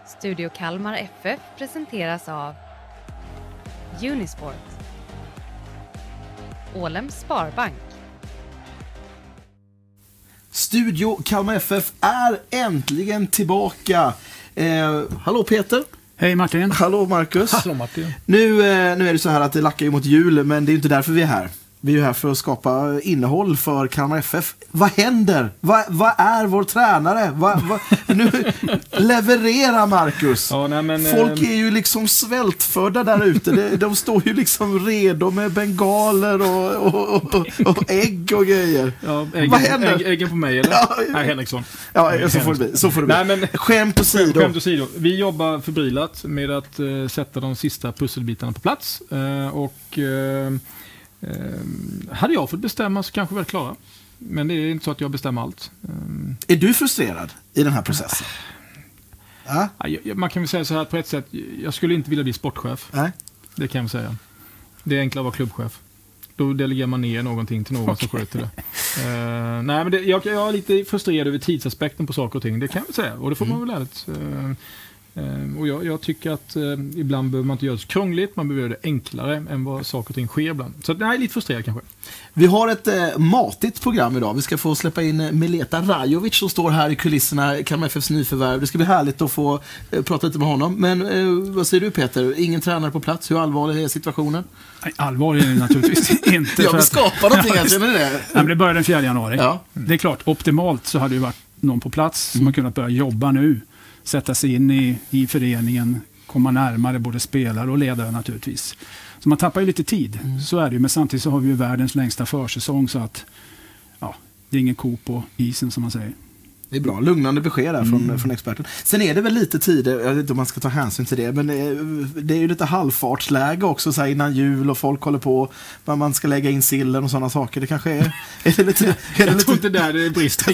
Studio Kalmar FF presenteras av Unisport, Ålems Sparbank. Studio Kalmar FF är äntligen tillbaka. Hallå Peter. Hej Martin. Hallå Marcus. Hallå Martin. Nu är det så här att det lackar ju mot jul, men det är inte därför vi är här. Vi är ju här för att skapa innehåll för Kalmar FF. Vad händer? Vad är vår tränare? Nu levererar Marcus. Ja, nej, men, folk är ju liksom svältfödda där ute. De står ju liksom redo med bengaler och ägg och grejer. Ja, vad händer? Äggen på mig eller? Ja, Nej, Henriksson. Ja, så får det bli. Nej, men, skämt åsido. Vi jobbar förbrilat med att sätta de sista pusselbitarna på plats. Hade jag fått bestämma så kanske vi är klara. Men det är inte så att jag bestämmer allt. Är du frustrerad i den här processen? Ja, man kan väl säga så här på ett sätt. Jag skulle inte vilja bli sportchef. Nej. Det kan jag säga. Det är enklare att vara klubbchef. Då delegerar man ner någonting till någon som sköter det. Nej, men jag är lite frustrerad över tidsaspekten på saker och ting. Det kan jag säga. Och det får man väl ärligt. Och jag tycker att ibland behöver man inte göra det så krångligt, man behöver göra det enklare än vad saker och ting sker ibland. Så det är lite frustrerad kanske. Vi har ett matigt program idag. Vi ska få släppa in Mileta Rajovic som står här i kulisserna, Kalmar FFs nyförvärv. Det ska bli härligt att få prata lite med honom. Men vad säger du Peter? Ingen tränare på plats. Hur allvarlig är situationen? Nej, allvarlig är det naturligtvis inte. Jag vill skapa någonting här, känner det? Nej, men det börjar den 4 januari. Ja. Det är klart, optimalt så hade det varit någon på plats som har kunnat börja jobba nu. Sätta sig in i föreningen, komma närmare både spelare och ledare naturligtvis. Så man tappar ju lite tid, så är det ju. Men samtidigt så har vi ju världens längsta försäsong, så att det är ingen ko på isen som man säger. Det är bra, lugnande besked där från experten. Sen är det väl lite tid, jag vet inte om man ska ta hänsyn till det, men det är ju lite halvfartsläge också så här innan jul och folk håller på vad man ska lägga in sillen och sådana saker. Det kanske är det lite... Jag tror inte där det brister.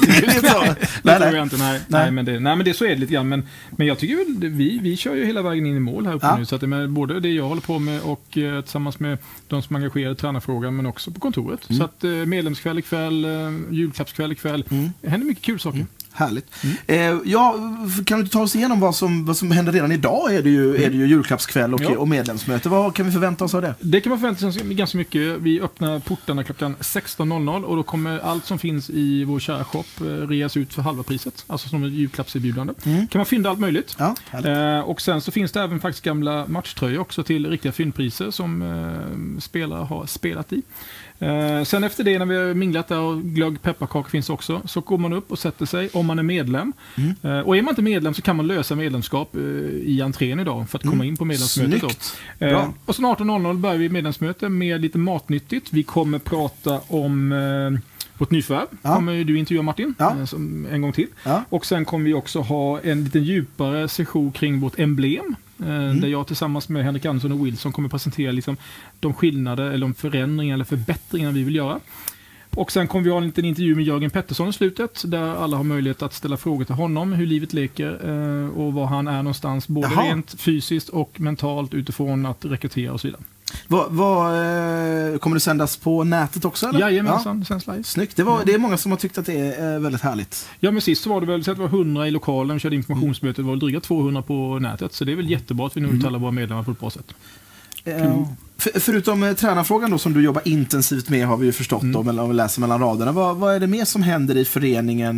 Nej, men det så är det lite grann. Men jag tycker väl, vi kör ju hela vägen in i mål här uppe nu. Så att det är både det jag håller på med och tillsammans med de som engagerar i tränarfrågan, men också på kontoret. Så att medlemskväll ikväll, julklappskväll ikväll. Det händer mycket kul saker. Härligt. Kan du ta oss igenom vad som händer redan idag? Är det ju julklappskväll och medlemsmöte. Vad kan vi förvänta oss av det? Det kan man förvänta sig ganska mycket. Vi öppnar portarna klockan 16.00 och då kommer allt som finns i vår kära shop reas ut för halva priset. Alltså som ett julklappserbjudande. Kan man fynda allt möjligt. Ja, och sen så finns det även faktiskt gamla matchtröjor också till riktiga fyndpriser som spelare har spelat i. Sen efter det, när vi har minglat där och glögg pepparkakor finns också, så går man upp och sätter sig om man är medlem. Och är man inte medlem så kan man lösa medlemskap i entrén idag för att komma in på medlemsmötet. Då. Och så 18.00 börjar vi medlemsmöte med lite matnyttigt. Vi kommer prata om vårt nyförvärv. Kommer du intervjua Martin en gång till. Och sen kommer vi också ha en lite djupare session kring vårt emblem. Där jag tillsammans med Henrik Andersson och Wilson kommer presentera liksom de skillnader eller de förändringar eller förbättringar vi vill göra. Och sen kommer vi ha en liten intervju med Jörgen Pettersson i slutet, där alla har möjlighet att ställa frågor till honom, hur livet leker och var han är någonstans, både rent fysiskt och mentalt utifrån att rekrytera och så vidare. Kommer det sändas på nätet också? Eller? Jajamensan, det sänds live. Snyggt. Det är många som har tyckt att det är väldigt härligt. Ja, men sist så var det väl så att det var 100 i lokalen, vi körde informationsmötet, det var väl dryga 200 på nätet, så det är väl jättebra att vi nu uttalar våra medlemmar på ett bra sätt. Förutom tränarfrågan då, som du jobbar intensivt med, har vi ju förstått om vi läser mellan raderna. Vad är det mer som händer i föreningen?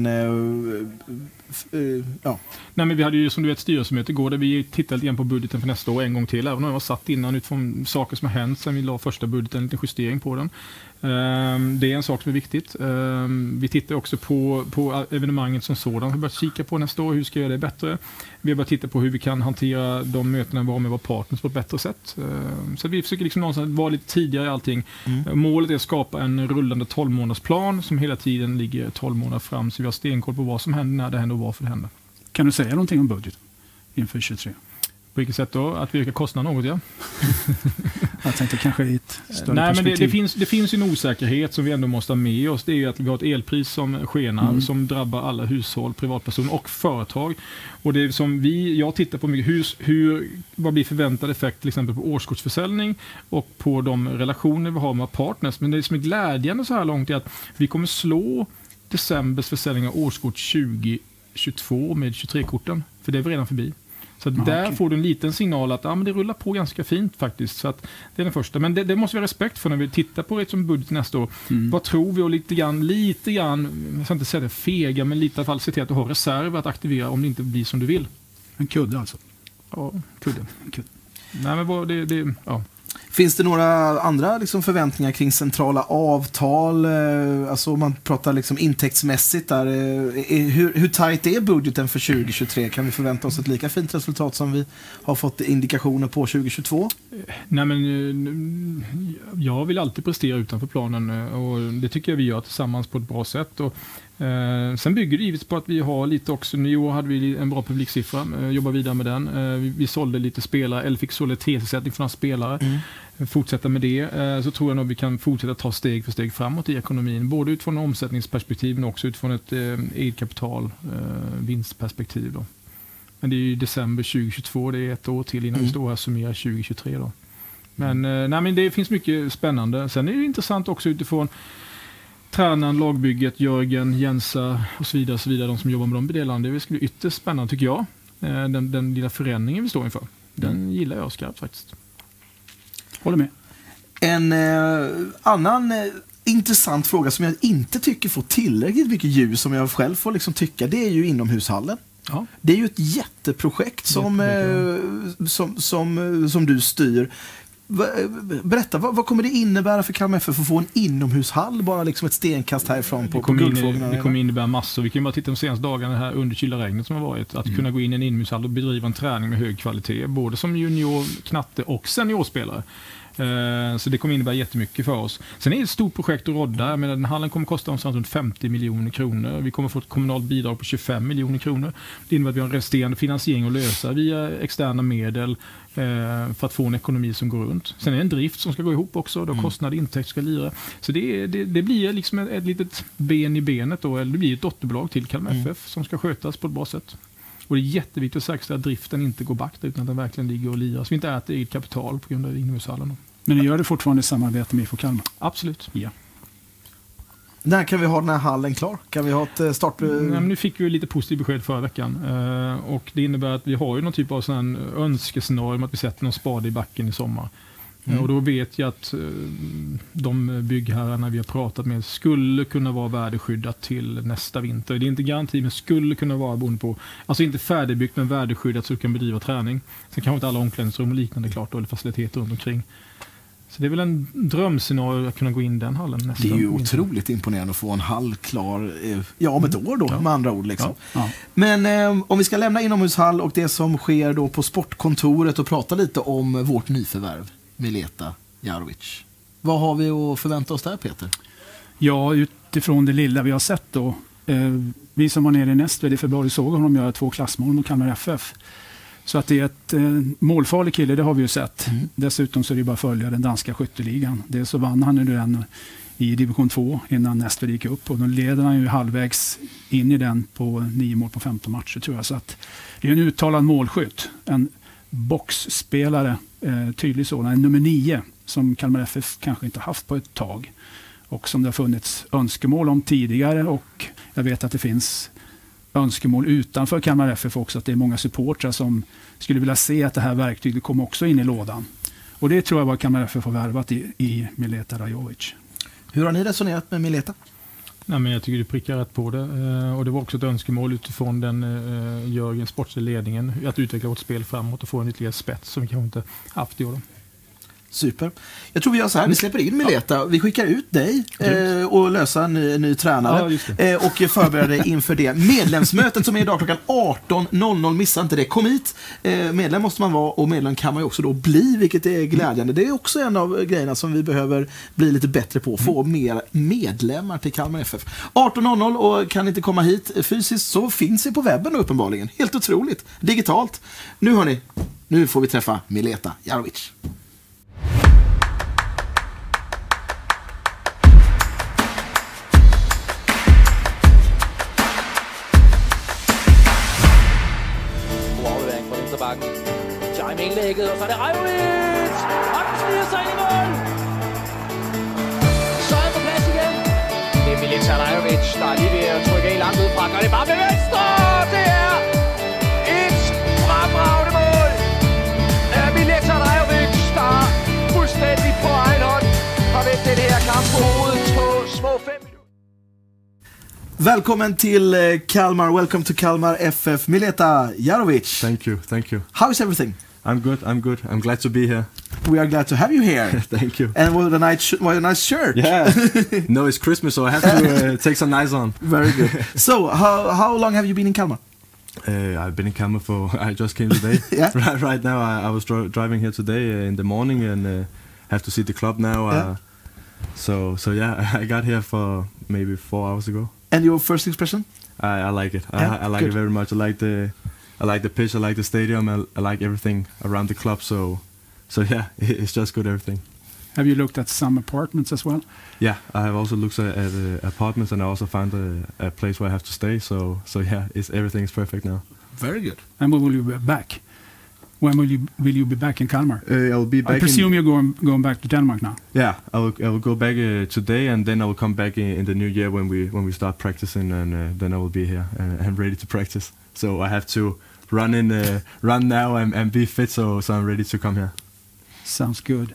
Nej, men vi hade ju som du vet styrelsemöte igår där vi tittade igen på budgeten för nästa år en gång till, även om jag var satt innan utifrån saker som har hänt sen vi la första budgeten, en liten justering på den. Det är en sak som är viktigt. Vi tittar också på evenemanget som sådan. Vi har börjat kika på nästa år, hur ska vi göra det bättre. Vi har börjat titta på hur vi kan hantera de mötena vi har med våra partners på ett bättre sätt. Så vi försöker liksom någonstans vara lite tidigare i allting. Målet är att skapa en rullande 12-månadersplan som hela tiden ligger 12 månader fram, så vi har stenkoll på vad som händer, när det händer och varför det händer. Kan du säga någonting om budget inför 23? På vilket sätt då? Att vi ökar kostnaden något, ja. Jag tänkte kanske i ett större perspektiv. Men det finns en osäkerhet som vi ändå måste ha med oss. Det är ju att vi har ett elpris som skenar, som drabbar alla hushåll, privatpersoner och företag. Och det är som jag tittar på mycket, vad blir förväntad effekt till exempel på årskortsförsäljning och på de relationer vi har med partners. Men det som är glädjande så här långt är att vi kommer slå decembers försäljning av årskort 2022 med 23-korten. För det är vi redan förbi. Så Så där får du en liten signal att men det rullar på ganska fint faktiskt. Så att det är den första. Men det måste vi ha respekt för när vi tittar på det som budget nästa år. Vad tror vi? Och lite grann, jag ska inte säga det fega, men lite i alla fall se till att du har reserv att aktivera om det inte blir som du vill. En kudde alltså? Ja, kudde. Nej, men ja. Finns det några andra liksom förväntningar kring centrala avtal? Alltså om man pratar liksom intäktsmässigt där. Hur tajt är budgeten för 2023? Kan vi förvänta oss ett lika fint resultat som vi har fått indikationer på 2022? Nej, men jag vill alltid prestera utanför planen och det tycker jag vi gör tillsammans på ett bra sätt. Och sen bygger det givetvis på att vi har lite också, i år hade vi en bra publiksiffra, jobbar vidare med den. Vi sålde lite spelare, eller fick solidaritetsersättning från spelare. Fortsätta med det, så tror jag nog vi kan fortsätta ta steg för steg framåt i ekonomin, både utifrån omsättningsperspektiv men också utifrån ett eget kapital vinstperspektiv då. Men det är ju december 2022, det är ett år till innan vi står här och summerar 2023 då. Men det finns mycket spännande. Sen är det intressant också utifrån tränaren, lagbygget, Jörgen, Jensa och så vidare, de som jobbar med de delarna. Det ska bli ytterst spännande tycker jag. Den lilla förändringen vi står inför. Den gillar jag skarpt faktiskt. Håller med. En annan intressant fråga som jag inte tycker får tillräckligt mycket ljus som jag själv får liksom tycka, det är ju inomhushallen. Ja. Det är ju ett jätteprojekt som du styr. Berätta, vad kommer det innebära för Kalmar FF att få en inomhushall bara liksom ett stenkast härifrån på Guldfågeln? Det kommer innebära massor. Vi kan bara titta de senaste dagarna här under kyla regnet som har varit. Att kunna gå in i en inomhushall och bedriva en träning med hög kvalitet. Både som junior, knatte och seniorspelare. Så det kommer innebära jättemycket för oss. Sen är det ett stort projekt att rodda. Den hallen kommer kosta omkring runt 50 miljoner kronor. Vi kommer få ett kommunalt bidrag på 25 miljoner kronor. Det innebär att vi har en resterande finansiering att lösa via externa medel för att få en ekonomi som går runt. Sen är det en drift som ska gå ihop också. Då kostnad och intäkt ska lira. Så det blir liksom ett litet ben i benet då. Eller det blir ett dotterbolag till Kalmar FF som ska skötas på ett bra sätt. Och det är jätteviktigt att säkerställa att driften inte går back utan att den verkligen ligger och lirar. Så vi inte äter eget kapital på grund av inomhushallen. Men ni gör det fortfarande i samarbete med IFK Kalmar? Absolut. Ja. När kan vi ha den här hallen klar? Kan vi ha ett start? Nu fick vi lite positivt besked förra veckan. Och det innebär att vi har ju någon typ av sån önskescenario om att vi sätter någon spade i backen i sommar. Och då vet jag att de byggherrarna vi har pratat med skulle kunna vara värdeskyddat till nästa vinter. Det är inte garanti, men skulle kunna vara beroende på. Alltså inte färdigbyggt men värdeskyddat så du kan bedriva träning. Sen kanske inte alla omklädningsrum och liknande klart då, eller faciliteter runt omkring. Så det är väl en drömscenario att kunna gå in den hallen nästa. Det är ju otroligt imponerande att få en hall klar om ett år då, med andra ord liksom. Ja. Men om vi ska lämna inomhushall och det som sker då på sportkontoret och prata lite om vårt nyförvärv. Mileta Jarovic. Vad har vi att förvänta oss där, Peter? Ja, utifrån det lilla vi har sett då. Vi som var nere i Nästved i februari såg honom göra 2 klassmål mot Kalmar FF. Så att det är ett målfarlig kille, det har vi ju sett. Dessutom så är det bara att följa den danska skytteligan. Dels så vann han nu den i division 2 innan Nästved gick upp. Och då leder han ju halvvägs in i den på 9 mål på 15 matcher tror jag. Så att det är en uttalad målskytt. En boxspelare, tydlig sådan, en nummer 9 som Kalmar FF kanske inte haft på ett tag och som det har funnits önskemål om tidigare, och jag vet att det finns önskemål utanför Kalmar FF också, att det är många supportrar som skulle vilja se att det här verktyget kommer också in i lådan, och det tror jag var Kalmar FF har värvat i Mileta Rajovic. Hur har ni resonerat med Mileta? Nej, men jag tycker du prickar rätt på det. Och det var också ett önskemål utifrån den Jörgens sportsliga ledningen att utveckla vårt spel framåt och få en ytterligare spets som vi kanske inte haft i år. Super. Jag tror vi gör så här, vi släpper in Mileta, vi skickar ut dig och löser en ny tränare och förbereder dig inför det medlemsmötet som är idag klockan 18.00, missa inte det, kom hit, medlem måste man vara och medlem kan man ju också då bli, vilket är glädjande. Det är också en av grejerna som vi behöver bli lite bättre på, få mer medlemmar till Kalmar FF. 18.00 och kan inte komma hit fysiskt så finns vi på webben uppenbarligen, helt otroligt, digitalt. Nu hörni, nu får vi träffa Mileta Jarovic. Indlægget, og så er det Rajovic! Og den sniger sig ind i mål! Så er på plads igen. Det er Mileta Rajovic, der er lige ved at trykke af langt ud fra. Gør det bare med venstre! Det er et fremragende mål! Välkommen till Kalmar. Welcome to Kalmar FF. Mileta Jarovic. Thank you. How is everything? I'm good. I'm glad to be here. We are glad to have you here. Thank you. And what a nice shirt. Yeah. No, it's Christmas, so I have to take some nice on. Very good. So, how long have you been in Kalmar? I've been in Kalmar I just came today. Yeah. Right now, I was driving here today in the morning and have to see the club now. Yeah. So yeah, I got here for maybe 4 hours ago. And your first expression? I like it. Yeah, I like good. it very much. I like the pitch. I like the stadium. I like everything around the club. So yeah, it's just good everything. Have you looked at some apartments as well? Yeah, I have also looked at apartments, and I also found a place where I have to stay. So yeah, everything is perfect now. Very good. And when will you be back? When will you be back in Kalmar? I will be back. I presume you're going back to Denmark now. Yeah, I will go back today, and then I will come back in the new year when we start practicing, and then I will be here and ready to practice. So I have to run now and be fit, so I'm ready to come here. Sounds good.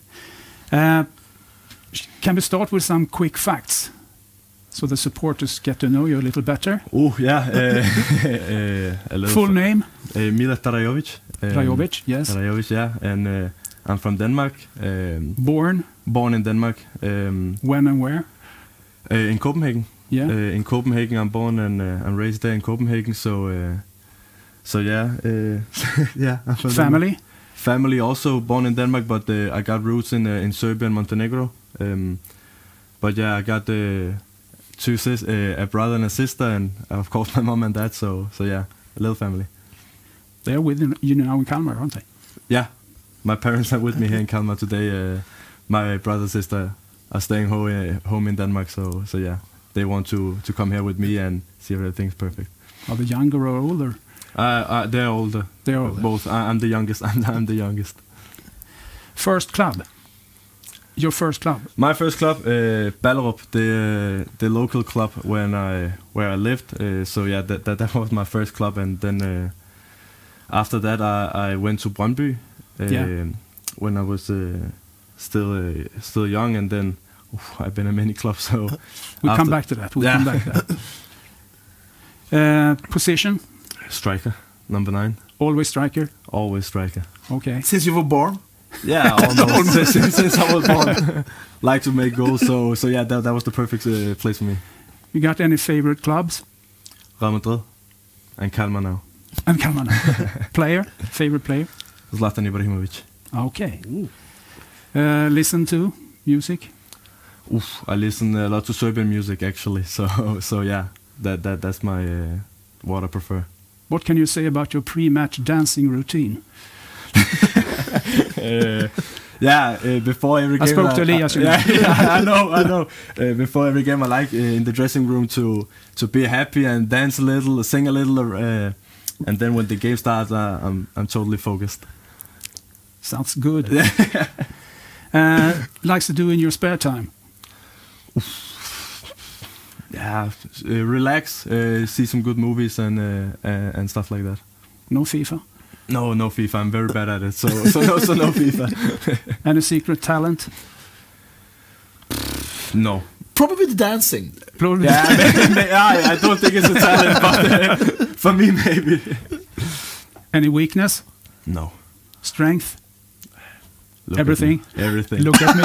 Can we start with some quick facts so the supporters get to know you a little better? Oh yeah, a little Full name? Mileta Rajovic. Rajovic, yes. Rajovic, yeah, and I'm from Denmark. Born in Denmark. When and where? In Copenhagen. Yeah. In Copenhagen, I'm born and I'm raised there in Copenhagen. So yeah, yeah. I'm from Family? Denmark. Family also born in Denmark, but I got roots in Serbia and Montenegro. But yeah, I got two a brother and a sister, and of course my mom and dad. So yeah, a little family. They're with you now in Kalmar, aren't they? Yeah, my parents are with me here in Kalmar today. My brother and sister are staying home in Denmark. So yeah, they want to come here with me and see if everything's perfect. Are they younger or older? They're older. They're older. Both. I'm the youngest. I'm the youngest. First club. Your first club. My first club, Ballerup, the local club where I lived. So yeah, that was my first club, and then after that I went to Brøndby when I was still young, and then I've been in many clubs. So we'll come back to that. Come back to that. Position? Striker, number 9. Always striker? Always striker. Okay. Since you were born? Yeah, almost. since I was born. Like to make goals, so yeah, that was the perfect place for me. You got any favorite clubs? Real Madrid and Kalmar now. And Kalmar now. Player? Favorite player? Zlatan Ibrahimovic. Okay. Listen to music? I listen a lot to Serbian music actually. So yeah, that's my what I prefer. What can you say about your pre-match dancing routine? Before every game. I spoke to Elias. I know. Before every game, I like in the dressing room to be happy and dance a little, sing a little, and then when the game starts, I'm totally focused. Sounds good. Likes to do in your spare time? Yeah, relax, see some good movies and stuff like that. No FIFA? No FIFA. I'm very bad at it, so no FIFA. Any secret talent? No. Probably the dancing. I don't think it's a talent, but for me maybe. Any weakness? No. Strength? Look Everything? Everything. Look at me.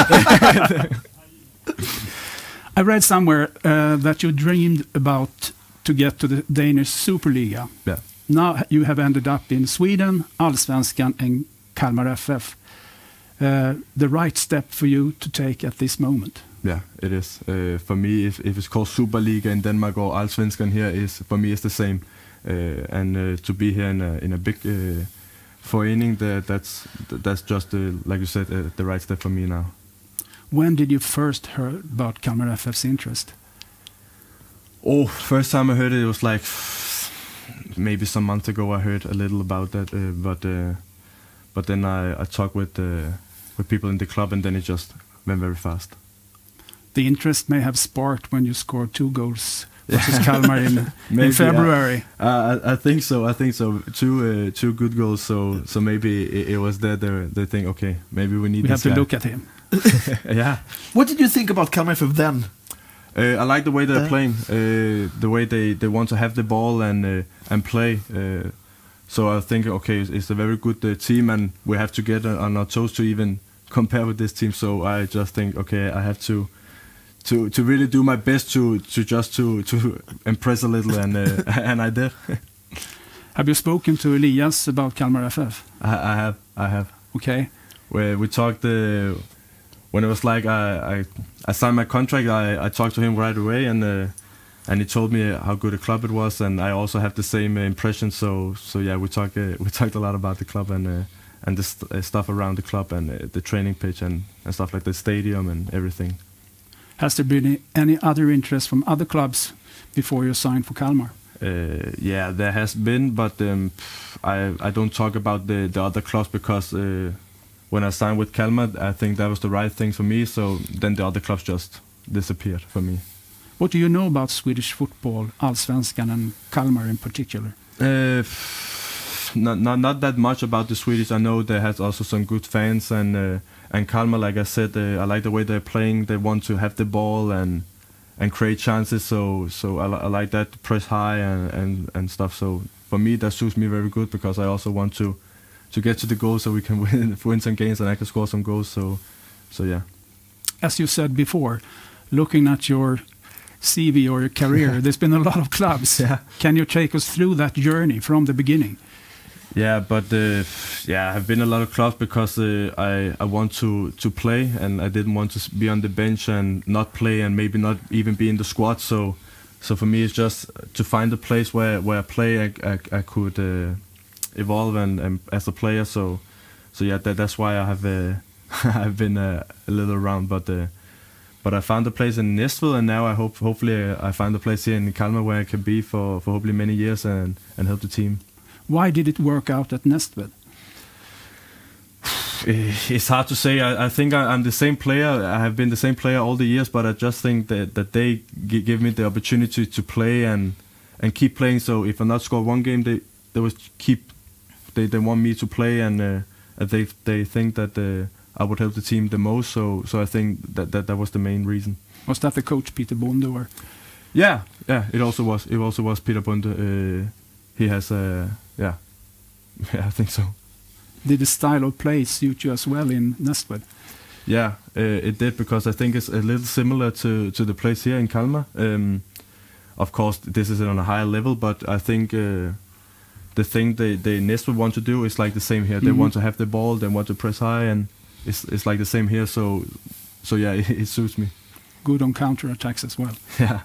I read somewhere that you dreamed about to get to the Danish Superliga. Yeah. Now you have ended up in Sweden, Allsvenskan and Kalmar FF. The right step for you to take at this moment? Yeah, it is. For me, if it's called Superliga in Denmark or Allsvenskan here, for me it's the same. And to be here in a big forening, that's just like you said, the right step for me now. When did you first hear about Kalmar FF's interest? First time I heard it was like maybe some months ago. I heard a little about that, but then I talked with people in the club, and then it just went very fast. The interest may have sparked when you scored 2 goals versus Kalmar in February. I think so. Two good goals. So maybe it was there. They think, okay, maybe we need. We have to look at him. Yeah. What did you think about Kalmar FF then? I like the way they're playing, the way they want to have the ball and play. So I think, okay, it's a very good team, and we have to get on our toes to even compare with this team. So I just think, okay, I have to really do my best to impress a little, and and I did. Have you spoken to Elias about Kalmar FF? I have. Okay. Where we talked when it was like I signed my contract, I talked to him right away, and he told me how good a club it was, and I also have the same impression. So yeah, we talked a lot about the club and the stuff around the club and the training pitch and stuff like the stadium and everything. Has there been any other interest from other clubs before you signed for Kalmar? Yeah, there has been, but I don't talk about the other clubs because when I signed with Kalmar, I think that was the right thing for me. So then the other clubs just disappeared for me. What do you know about Swedish football, Allsvenskan and Kalmar in particular? Not that much about the Swedish. I know they has also some good fans, and Kalmar, like I said, I like the way they're playing. They want to have the ball and create chances. So I like that, press high and stuff. So for me, that suits me very good because I also want to get to the goal so we can win some games and I can score some goals. So yeah. As you said before, looking at your CV or your career, there's been a lot of clubs. Yeah. Can you take us through that journey from the beginning? Yeah, but I've been a lot of clubs because I want to play, and I didn't want to be on the bench and not play and maybe not even be in the squad. So for me, it's just to find a place where I play, I could evolve and as a player. So yeah, that's why I have I've been a little around, but I found a place in Næstved, and now hopefully I find a place here in Kalmar where I can be for hopefully many years and help the team. Why did it work out at Næstved? It's hard to say. I think I'm the same player. I have been the same player all the years, but I just think that they give me the opportunity to play and keep playing. So if I not score one game, they want me to play, and they think that I would help the team the most. So I think that was the main reason. Was that the coach Peter Bonde or? Yeah. It also was Peter Bonde. He has yeah, I think so. Did the style of play suit you as well in Næstved? Yeah, it did, because I think it's a little similar to the place here in Kalmar. Of course, this is on a higher level, but I think the thing they Næstved want to do is like the same here. They want to have the ball, they want to press high, and it's like the same here. So yeah, it suits me. Good on counter attacks as well.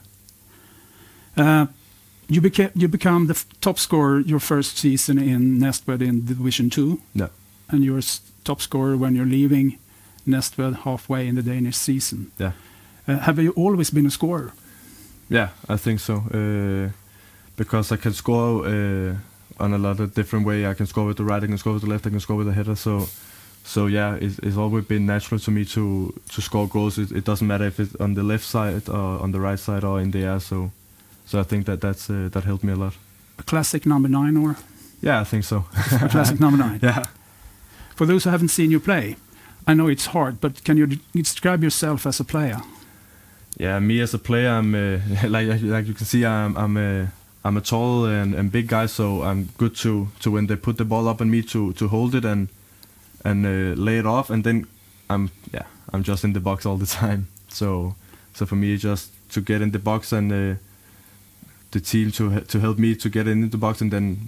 Yeah. You become the top scorer your first season in Næstved in Division 2. Yeah. And you're top scorer when you're leaving Næstved halfway in the Danish season. Yeah. Have you always been a scorer? Yeah, I think so. Because I can score on a lot of different way. I can score with the right, I can score with the left, I can score with the header. So yeah, it's always been natural to me to score goals. It doesn't matter if it's on the left side or on the right side or in the air. So I think that helped me a lot. A classic number 9, or? Yeah, I think so. A classic number 9. Yeah. For those who haven't seen you play, I know it's hard, but can you describe yourself as a player? Yeah, me as a player, I'm like you can see, I'm a tall and big guy, so I'm good to when they put the ball up on me to hold it and lay it off, and then I'm just in the box all the time. So for me, it's just to get in the box and the team to help me to get in the box, and then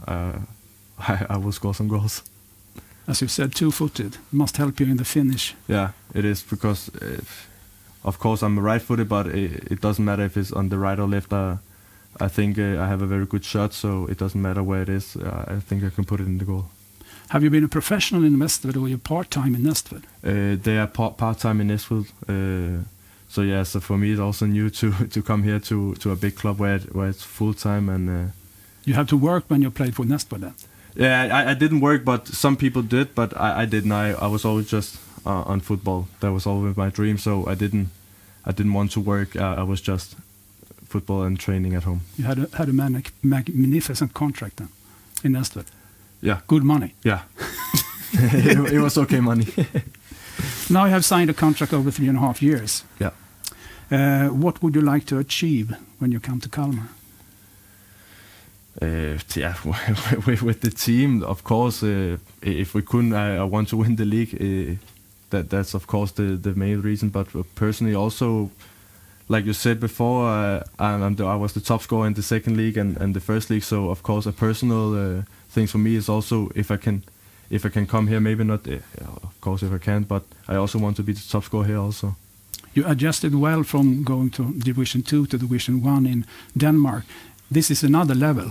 I will score some goals. As you said, two-footed must help you in the finish. Yeah, it is, because of course I'm right-footed, but it doesn't matter if it's on the right or left. I think I have a very good shot, so it doesn't matter where it is. I think I can put it in the goal. Have you been a professional in Næstved, or you're part-time in Næstved? They are part-time in Næstved. So yeah, so for me it's also new to come here to a big club where it's full-time. And you have to work when you played for Næstved then? Yeah, I didn't work, but some people did, but I didn't. I was always just on football. That was always my dream, so I didn't want to work. I was just football and training at home. You had a magnificent contract then in Næstved. Yeah. Good money. Yeah. It was okay money. Now you have signed a contract over 3.5 years. Yeah. What would you like to achieve when you come to Kalmar? Yeah, with the team, of course. If we couldn't, I want to win the league. That's of course the main reason. But personally, also, like you said before, I was the top scorer in the second league and the first league. So of course, a personal thing for me is also if I can come here. Maybe not, of course, if I can. But I also want to be the top scorer here also. You adjusted well from going to Division 2 to Division 1 in Denmark. This is another level.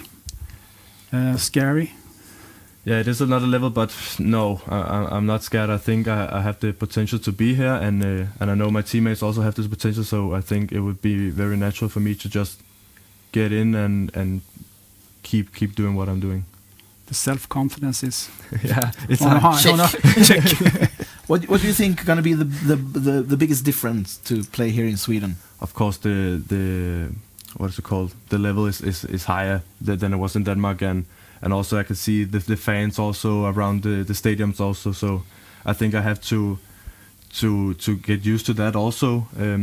Scary? Yeah, it is another level, but no, I'm not scared. I think I have the potential to be here, and I know my teammates also have this potential, so I think it would be very natural for me to just get in and keep doing what I'm doing. The self-confidence is it's on a high. Check. What do you think going to be the biggest difference to play here in Sweden? Of course, the what is it called? The level is higher than it was in Denmark, and also I can see the fans also around the stadiums also. So I think I have to get used to that also.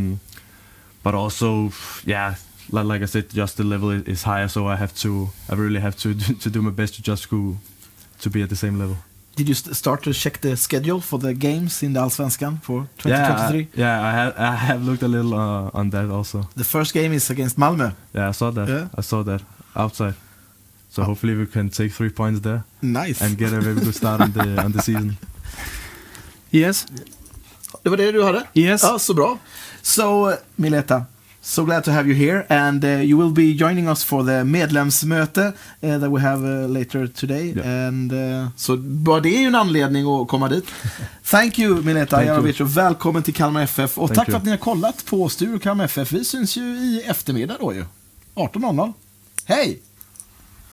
But also, yeah, like I said, just the level is higher. So I really have to do my best to just go to be at the same level. Did you start to check the schedule for the games in the Allsvenskan for 2023? I have looked a little on that also. The first game is against Malmö. Yeah, I saw that. Yeah. I saw that outside. So hopefully we can take 3 points there. Nice. And get a very good start on the season. Yes. Det var det du hade? Yes. Ja, så bra. So, Mileta, so glad to have you here, and you will be joining us for the medlemsmöte that we have later today. Yeah. And så bara det är ju en anledning att komma dit. Thank you, Mileta Jarovic, och välkommen till Kalmar FF. Och tack för att ni har kollat på Studio Kalmar FF. Vi syns ju i eftermiddag då ju. 18:00. Hej!